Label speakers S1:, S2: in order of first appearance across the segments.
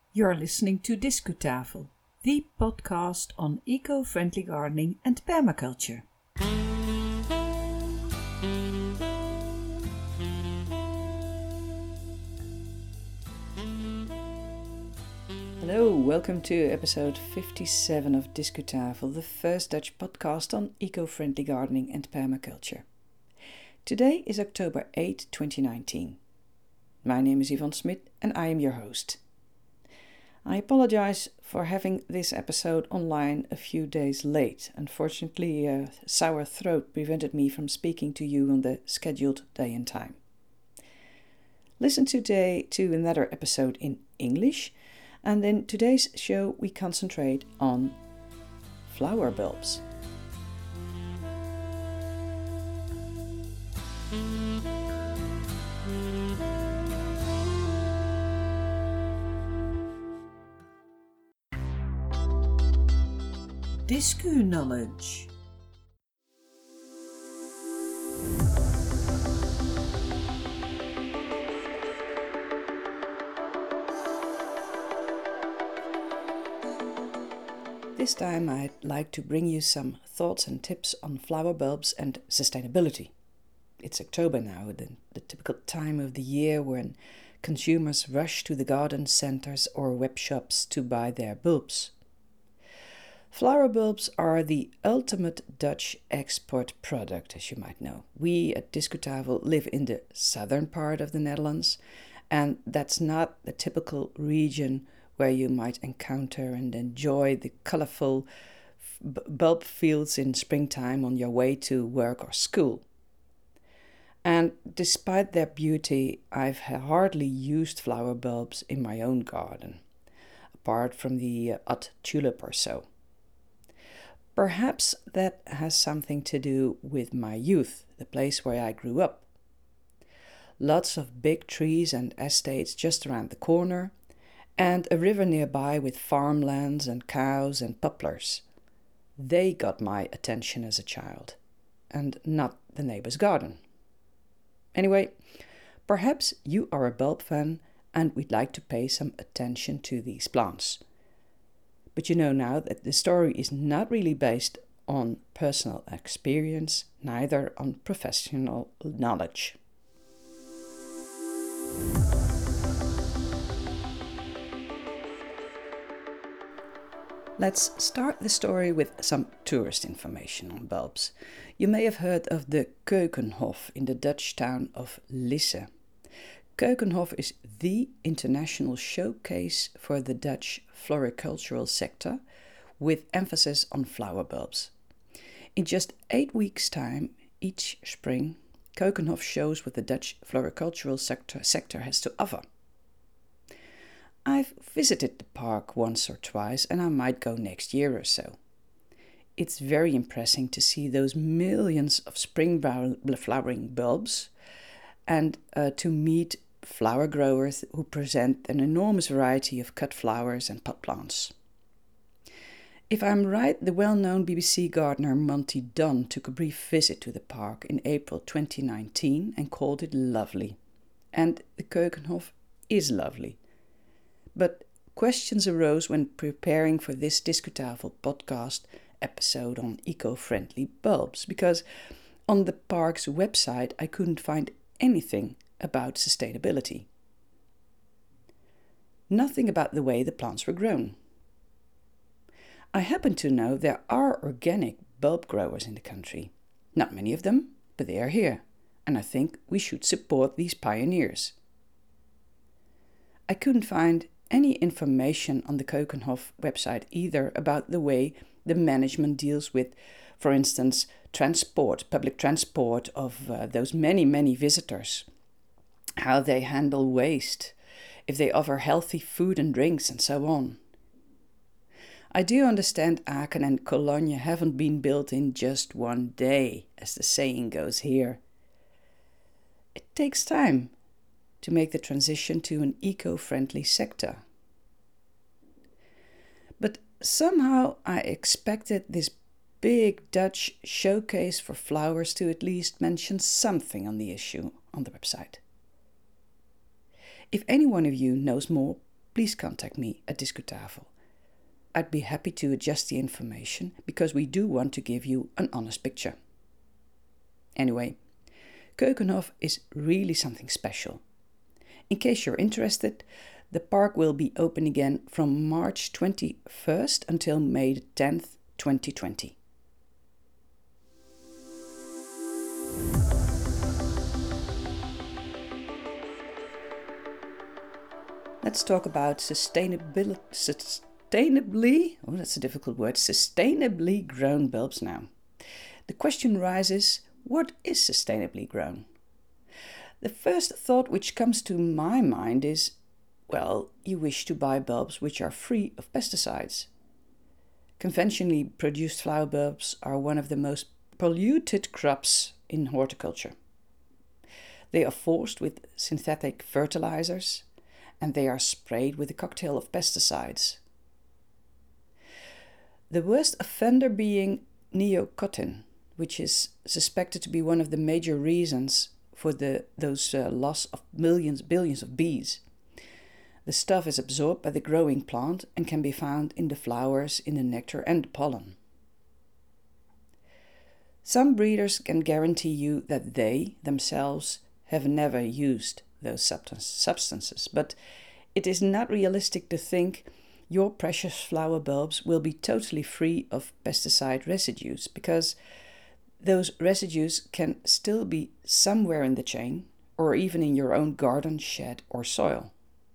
S1: You're listening to Discutafel, the podcast on eco-friendly gardening and permaculture.
S2: Hello, welcome to episode 57 of Discutafel, the first Dutch podcast on eco-friendly gardening and permaculture. Today is October 8, 2019. My name is Yvonne Smit and I am your host. I apologize for having this episode online a few days late. Unfortunately, a sour throat prevented me from speaking to you on the scheduled day and time. Listen today to another episode in English, and in today's show we concentrate on flower bulbs.
S1: Discu knowledge.
S2: This time I'd like to bring you some thoughts and tips on flower bulbs and sustainability. It's October now, the typical time of the year when consumers rush to the garden centers or web shops to buy their bulbs. Flower bulbs are the ultimate Dutch export product, as you might know. We at Discutafel live in the southern part of the Netherlands, and that's not the typical region where you might encounter and enjoy the colorful bulb fields in springtime on your way to work or school. And despite their beauty, I've hardly used flower bulbs in my own garden, apart from the odd tulip or so. Perhaps that has something to do with my youth, the place where I grew up. Lots of big trees and estates just around the corner, and a river nearby with farmlands and cows and poplars. They got my attention as a child, and not the neighbor's garden. Anyway, perhaps you are a bulb fan and we'd like to pay some attention to these plants. But you know now that the story is not really based on personal experience, neither on professional knowledge. Let's start the story with some tourist information on bulbs. You may have heard of the Keukenhof in the Dutch town of Lisse. Keukenhof is the international showcase for the Dutch floricultural sector, with emphasis on flower bulbs. In just 8 weeks' time, each spring, Keukenhof shows what the Dutch floricultural sector has to offer. I've visited the park once or twice, and I might go next year or so. It's very impressive to see those millions of spring flowering bulbs and to meet flower growers who present an enormous variety of cut flowers and pot plants. If I'm right, the well-known BBC gardener Monty Dunn took a brief visit to the park in April 2019 and called it lovely. And the Keukenhof is lovely. But questions arose when preparing for this Discutafel podcast episode on eco-friendly bulbs, because on the park's website I couldn't find anything about sustainability. Nothing about the way the plants were grown. I happen to know there are organic bulb growers in the country. Not many of them, but they are here, and I think we should support these pioneers. I couldn't find any information on the Keukenhof website either about the way the management deals with, for instance, public transport of those many visitors, how they handle waste, if they offer healthy food and drinks, and so on. I do understand Aken and Cologne haven't been built in just one day, as the saying goes here. It takes time to make the transition to an eco-friendly sector. But somehow I expected this big Dutch showcase for flowers to at least mention something on the issue on the website. If any one of you knows more, please contact me at Discutafel. I'd be happy to adjust the information because we do want to give you an honest picture. Anyway, Keukenhof is really something special. In case you're interested, the park will be open again from March 21st until May 10th, 2020. Let's talk about sustainably grown bulbs now. The question rises, what is sustainably grown? The first thought which comes to my mind is, well, you wish to buy bulbs which are free of pesticides. Conventionally produced flower bulbs are one of the most polluted crops in horticulture. They are forced with synthetic fertilizers, and they are sprayed with a cocktail of pesticides. The worst offender being neonicotine, which is suspected to be one of the major reasons for those loss of billions of bees. The stuff is absorbed by the growing plant and can be found in the flowers, in the nectar and the pollen. Some breeders can guarantee you that they themselves have never used those substances, but it is not realistic to think your precious flower bulbs will be totally free of pesticide residues, because those residues can still be somewhere in the chain or even in your own garden, shed or soil.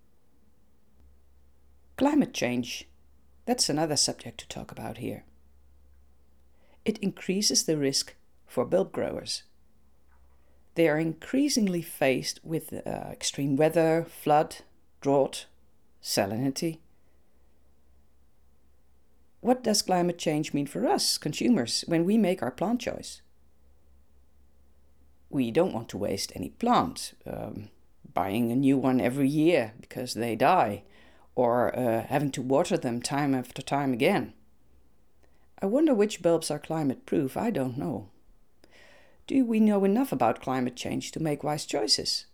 S2: Climate change, that's another subject to talk about here. It increases the risk for bulb growers. They are increasingly faced with extreme weather, flood, drought, salinity. What does climate change mean for us, consumers, when we make our plant choice? We don't want to waste any plant, buying a new one every year because they die, or having to water them time after time again. I wonder which bulbs are climate proof. I don't know. Do we know enough about climate change to make wise choices?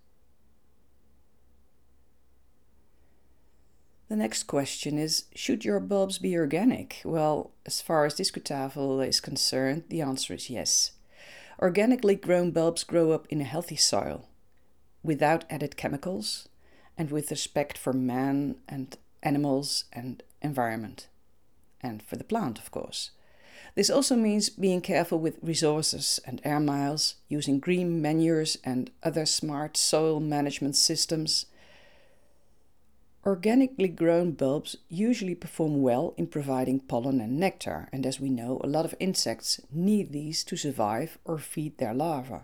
S2: The next question is, should your bulbs be organic? Well, as far as Discutafel is concerned, the answer is yes. Organically grown bulbs grow up in a healthy soil, without added chemicals, and with respect for man and animals and environment. And for the plant, of course. This also means being careful with resources and air miles, using green manures and other smart soil management systems. Organically grown bulbs usually perform well in providing pollen and nectar, and as we know, a lot of insects need these to survive or feed their larvae.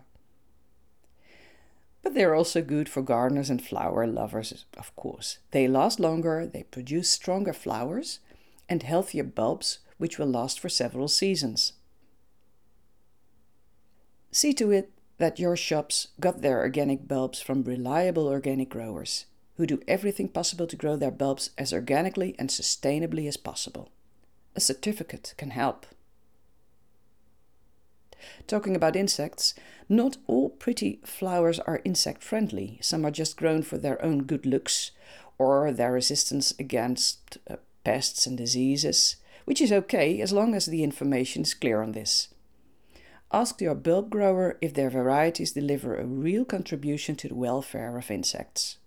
S2: But they're also good for gardeners and flower lovers, of course. They last longer, they produce stronger flowers and healthier bulbs, which will last for several seasons. See to it that your shops got their organic bulbs from reliable organic growers, who do everything possible to grow their bulbs as organically and sustainably as possible. A certificate can help. Talking about insects, not all pretty flowers are insect friendly. Some are just grown for their own good looks or their resistance against pests and diseases, which is okay as long as the information is clear on this. Ask your bulb grower if their varieties deliver a real contribution to the welfare of insects.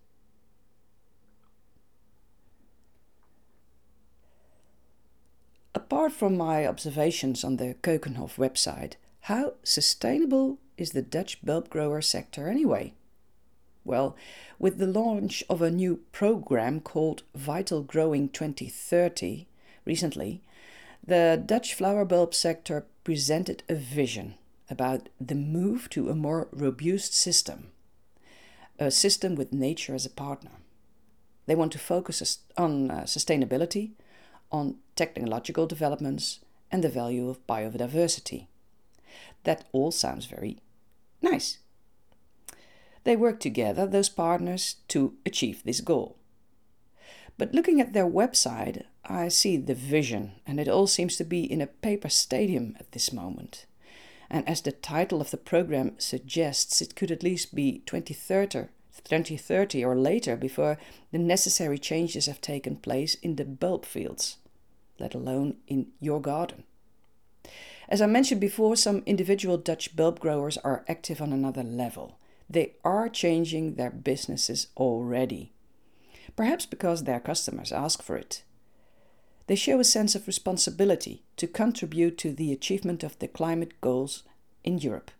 S2: Apart from my observations on the Keukenhof website, how sustainable is the Dutch bulb grower sector anyway? Well, with the launch of a new program called Vital Growing 2030 recently, the Dutch flower bulb sector presented a vision about the move to a more robust system, a system with nature as a partner. They want to focus on sustainability, on technological developments and the value of biodiversity. That all sounds very nice. They work together, those partners, to achieve this goal. But looking at their website, I see the vision, and it all seems to be in a paper stadium at this moment. And as the title of the program suggests, it could at least be 2030 2030 or later before the necessary changes have taken place in the bulb fields, let alone in your garden. As I mentioned before, some individual Dutch bulb growers are active on another level. They are changing their businesses already, perhaps because their customers ask for it. They show a sense of responsibility to contribute to the achievement of the climate goals in Europe.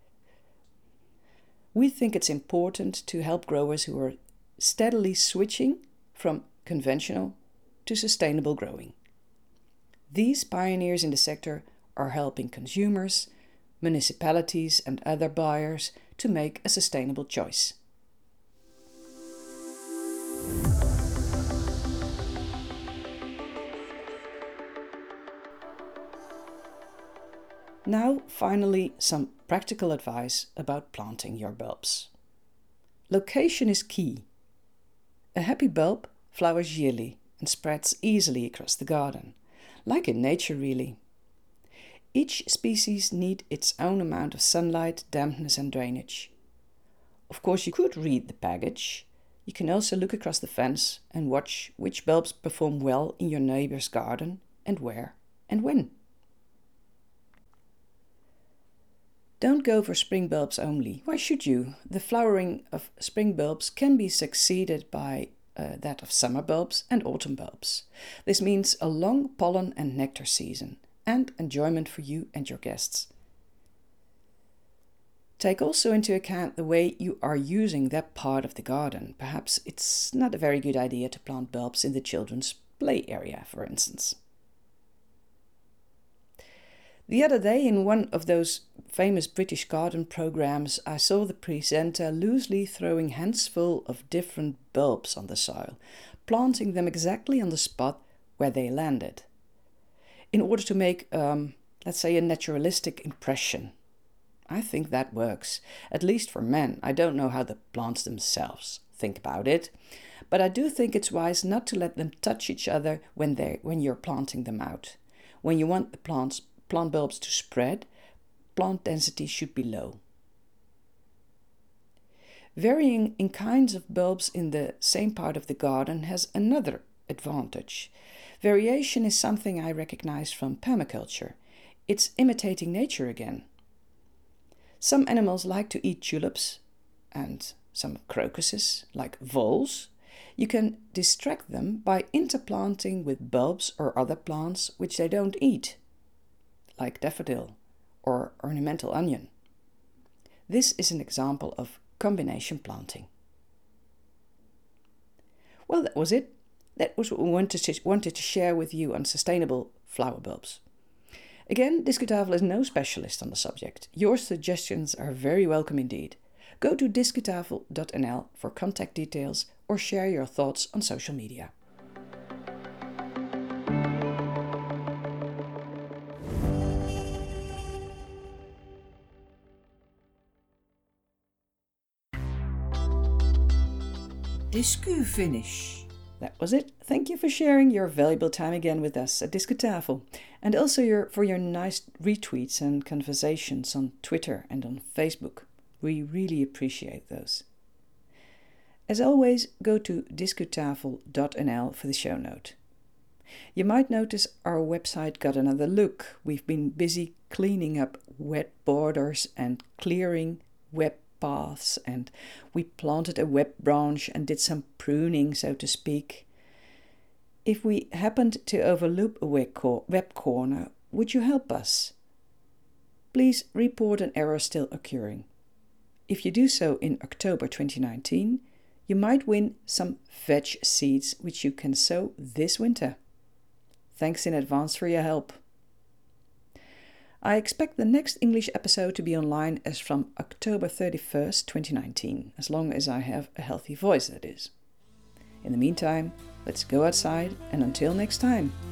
S2: We think it's important to help growers who are steadily switching from conventional to sustainable growing. These pioneers in the sector are helping consumers, municipalities and other buyers to make a sustainable choice. Now, finally, some practical advice about planting your bulbs. Location is key. A happy bulb flowers yearly and spreads easily across the garden, like in nature really. Each species needs its own amount of sunlight, dampness and drainage. Of course, you could read the package. You can also look across the fence and watch which bulbs perform well in your neighbor's garden and where and when. Don't go for spring bulbs only. Why should you? The flowering of spring bulbs can be succeeded by that of summer bulbs and autumn bulbs. This means a long pollen and nectar season and enjoyment for you and your guests. Take also into account the way you are using that part of the garden. Perhaps it's not a very good idea to plant bulbs in the children's play area, for instance. The other day, in one of those famous British garden programs, I saw the presenter loosely throwing handfuls of different bulbs on the soil, planting them exactly on the spot where they landed, in order to make, let's say, a naturalistic impression. I think that works, at least for men. I don't know how the plants themselves think about it, but I do think it's wise not to let them touch each other when you're planting them out. When you want the plant bulbs to spread, plant density should be low. Varying in kinds of bulbs in the same part of the garden has another advantage. Variation is something I recognize from permaculture. It's imitating nature again. Some animals like to eat tulips and some crocuses, like voles. You can distract them by interplanting with bulbs or other plants which they don't eat, like daffodil or ornamental onion. This is an example of combination planting. Well, that was it. That was what we wanted to share with you on sustainable flower bulbs. Again, Discutafel is no specialist on the subject. Your suggestions are very welcome indeed. Go to discutafel.nl for contact details or share your thoughts on social media.
S1: Discu finish.
S2: That was it. Thank you for sharing your valuable time again with us at Discutafel, and also for your nice retweets and conversations on Twitter and on Facebook. We really appreciate those. As always, go to discutafel.nl for the show note. You might notice our website got another look. We've been busy cleaning up wet borders and clearing web paths, and we planted a web branch and did some pruning, so to speak. If we happened to overlook a web corner, would you help us? Please report an error still occurring. If you do so in October 2019, you might win some veg seeds which you can sow this winter. Thanks in advance for your help. I expect the next English episode to be online as from October 31st, 2019, as long as I have a healthy voice, that is. In the meantime, let's go outside, and until next time.